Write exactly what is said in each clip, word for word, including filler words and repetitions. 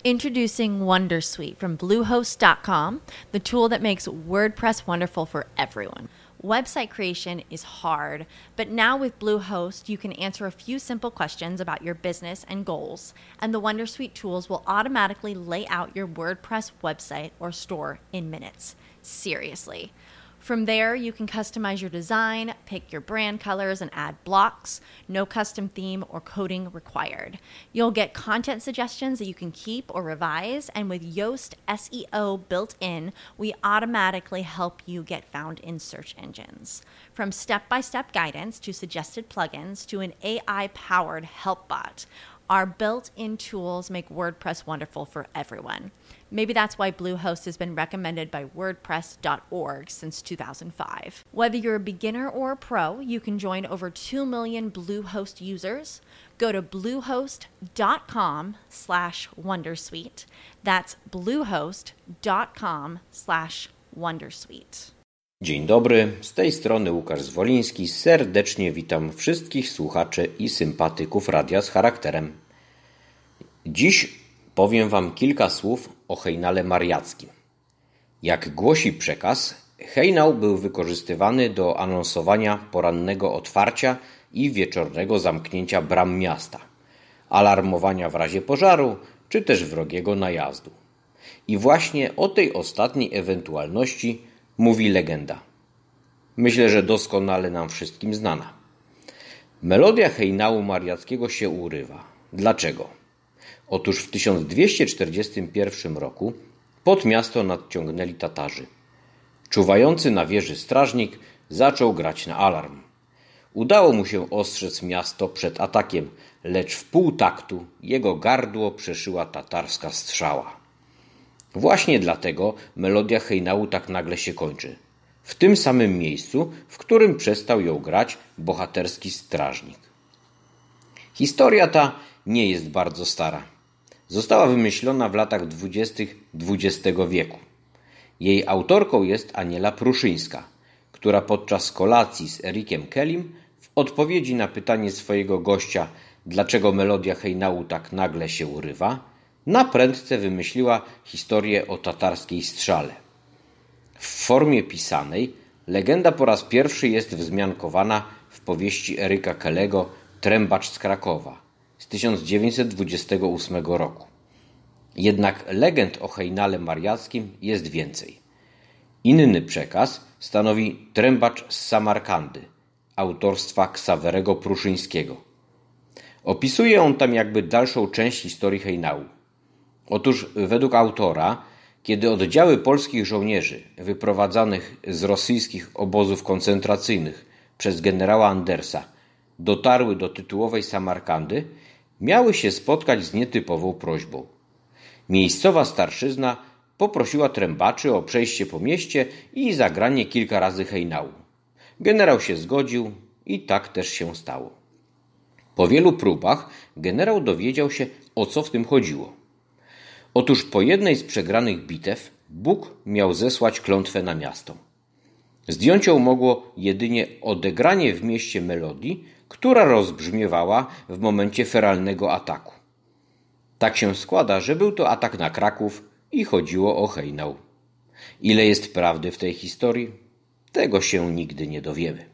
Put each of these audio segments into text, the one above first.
Introducing Wondersuite from Bluehost dot com, the tool that makes WordPress wonderful for everyone. Website creation is hard, but now with Bluehost, you can answer a few simple questions about your business and goals, and the Wondersuite tools will automatically lay out your WordPress website or store in minutes. Seriously. From there, you can customize your design, pick your brand colors, and add blocks. No custom theme or coding required. You'll get content suggestions that you can keep or revise, and with Yoast S E O built in, we automatically help you get found in search engines. From step-by-step guidance to suggested plugins to an A I-powered help bot, our built-in tools make WordPress wonderful for everyone. Maybe that's why Bluehost has been recommended by WordPress dot org since two thousand five. Whether you're a beginner or a pro, you can join over two million Bluehost users. Go to bluehost dot com slash wondersuite. That's bluehost dot com slash wondersuite. Dzień dobry, z tej strony Łukasz Zwoliński. Serdecznie witam wszystkich słuchaczy i sympatyków Radia z Charakterem. Dziś powiem Wam kilka słów o hejnale mariackim. Jak głosi przekaz, hejnał był wykorzystywany do anonsowania porannego otwarcia i wieczornego zamknięcia bram miasta, alarmowania w razie pożaru czy też wrogiego najazdu. I właśnie o tej ostatniej ewentualności mówi legenda. Myślę, że doskonale nam wszystkim znana. Melodia hejnału mariackiego się urywa. Dlaczego? Otóż w tysiąc dwieście czterdziestym pierwszym roku pod miasto nadciągnęli Tatarzy. Czuwający na wieży strażnik zaczął grać na alarm. Udało mu się ostrzec miasto przed atakiem, lecz w pół taktu jego gardło przeszyła tatarska strzała. Właśnie dlatego melodia hejnału tak nagle się kończy. W tym samym miejscu, w którym przestał ją grać bohaterski strażnik. Historia ta nie jest bardzo stara. Została wymyślona w latach dwudziestych dwudziestego wieku. Jej autorką jest Aniela Pruszyńska, która podczas kolacji z Ericiem Kellym w odpowiedzi na pytanie swojego gościa, dlaczego melodia hejnału tak nagle się urywa, naprędce wymyśliła historię o tatarskiej strzale. W formie pisanej legenda po raz pierwszy jest wzmiankowana w powieści Eryka Kellego Trębacz z Krakowa z tysiąc dziewięćset dwudziestego ósmego roku. Jednak legend o hejnale mariackim jest więcej. Inny przekaz stanowi Trębacz z Samarkandy autorstwa Ksawerego Pruszyńskiego. Opisuje on tam jakby dalszą część historii hejnału. Otóż według autora, kiedy oddziały polskich żołnierzy wyprowadzanych z rosyjskich obozów koncentracyjnych przez generała Andersa dotarły do tytułowej Samarkandy, miały się spotkać z nietypową prośbą. Miejscowa starszyzna poprosiła trębaczy o przejście po mieście i zagranie kilka razy hejnału. Generał się zgodził i tak też się stało. Po wielu próbach generał dowiedział się, o co w tym chodziło. Otóż po jednej z przegranych bitew Bóg miał zesłać klątwę na miasto. Zdjąć ją mogło jedynie odegranie w mieście melodii, która rozbrzmiewała w momencie feralnego ataku. Tak się składa, że był to atak na Kraków i chodziło o hejnał. Ile jest prawdy w tej historii? Tego się nigdy nie dowiemy.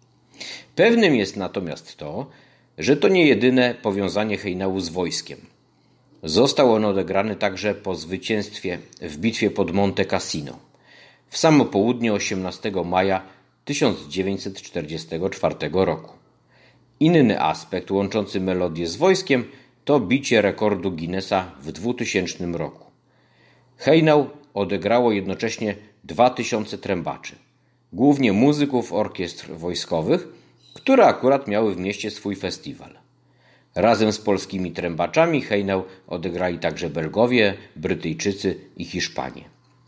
Pewnym jest natomiast to, że to nie jedyne powiązanie hejnału z wojskiem. Został on odegrany także po zwycięstwie w bitwie pod Monte Cassino w samo południe osiemnastego maja tysiąc dziewięćset czterdziestego czwartego roku. Inny aspekt łączący melodię z wojskiem to bicie rekordu Guinnessa w dwutysięcznym roku. Hejnał odegrało jednocześnie dwa tysiące trębaczy, głównie muzyków orkiestr wojskowych, które akurat miały w mieście swój festiwal. Razem z polskimi trębaczami hejnał odegrali także Belgowie, Brytyjczycy i Hiszpanie.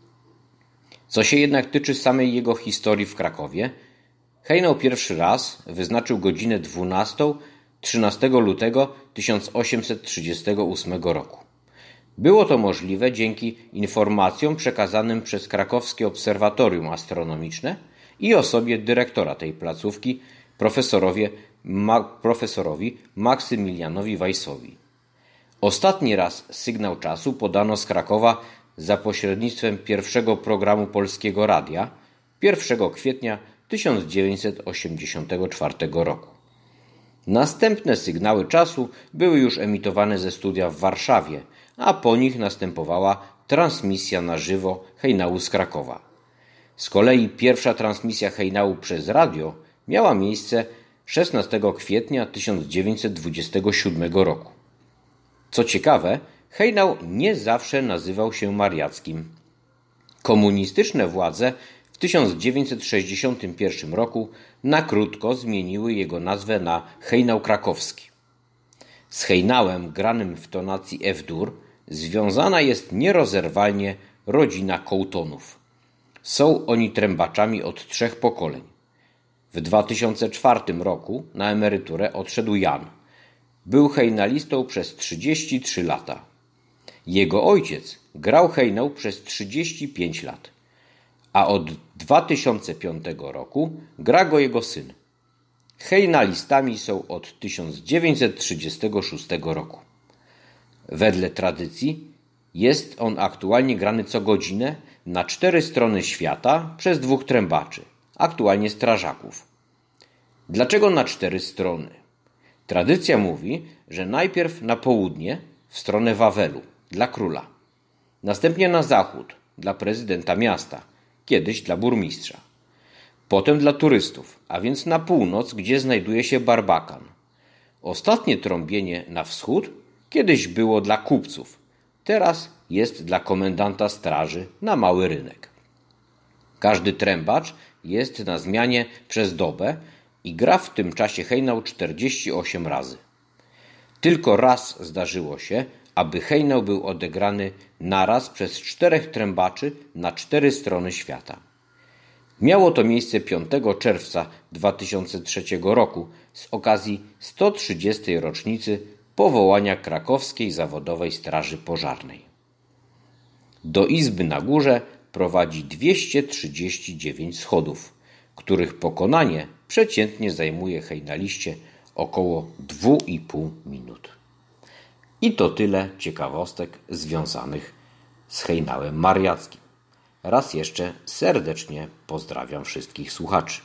Co się jednak tyczy samej jego historii w Krakowie, hejnał pierwszy raz wyznaczył godzinę dwunastą trzynastego lutego tysiąc osiemset trzydziestego ósmego roku. Było to możliwe dzięki informacjom przekazanym przez krakowskie obserwatorium astronomiczne i osobie dyrektora tej placówki, profesorowie, ma, profesorowi Maksymilianowi Weissowi. Ostatni raz sygnał czasu podano z Krakowa za pośrednictwem pierwszego programu Polskiego Radia pierwszego kwietnia tysiąc dziewięćset osiemdziesiątego czwartego roku. Następne sygnały czasu były już emitowane ze studia w Warszawie, a po nich następowała transmisja na żywo hejnału z Krakowa. Z kolei pierwsza transmisja hejnału przez radio miała miejsce szesnastego kwietnia tysiąc dziewięćset dwudziestego siódmego roku. Co ciekawe, hejnał nie zawsze nazywał się mariackim. Komunistyczne władze w tysiąc dziewięćset sześćdziesiątym pierwszym roku na krótko zmieniły jego nazwę na hejnał krakowski. Z hejnałem granym w tonacji F-dur związana jest nierozerwalnie rodzina Kołtonów. Są oni trębaczami od trzech pokoleń. W dwa tysiące czwartym roku na emeryturę odszedł Jan. Był hejnalistą przez trzydzieści trzy lata. Jego ojciec grał hejnał przez trzydzieści pięć lat, a od dwa tysiące piątego roku gra go jego syn. Hejnalistami są od tysiąc dziewięćset trzydziestego szóstego roku. Wedle tradycji jest on aktualnie grany co godzinę na cztery strony świata przez dwóch trębaczy, aktualnie strażaków. Dlaczego na cztery strony? Tradycja mówi, że najpierw na południe, w stronę Wawelu, dla króla. Następnie na zachód, dla prezydenta miasta, kiedyś dla burmistrza. Potem dla turystów, a więc na północ, gdzie znajduje się barbakan. Ostatnie trąbienie na wschód kiedyś było dla kupców, teraz jest dla komendanta straży na mały rynek. Każdy trębacz jest na zmianie przez dobę i gra w tym czasie hejnał czterdzieści osiem razy. Tylko raz zdarzyło się, aby hejnał był odegrany naraz przez czterech trębaczy na cztery strony świata. Miało to miejsce piątego czerwca dwa tysiące trzeciego roku z okazji sto trzydziestej rocznicy powołania Krakowskiej Zawodowej Straży Pożarnej. Do izby na górze prowadzi dwieście trzydzieści dziewięć schodów, których pokonanie przeciętnie zajmuje hejnaliście około dwa i pół minut. I to tyle ciekawostek związanych z hejnałem mariackim. Raz jeszcze serdecznie pozdrawiam wszystkich słuchaczy.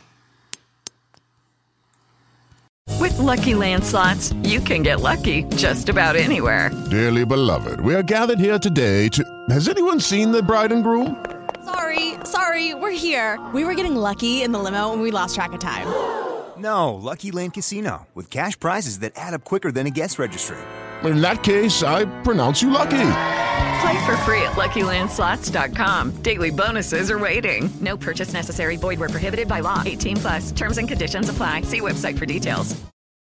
With Lucky Land Slots, you can get lucky just about anywhere. Dearly beloved, we are gathered here today to... Has anyone seen the bride and groom? Sorry, sorry, we're here. We were getting lucky in the limo and we lost track of time. No, Lucky Land Casino, with cash prizes that add up quicker than a guest registry. In that case, I pronounce you lucky. Play for free at Lucky Land Slots dot com. Daily bonuses are waiting. No purchase necessary. Void where prohibited by law. eighteen plus. Terms and conditions apply. See website for details.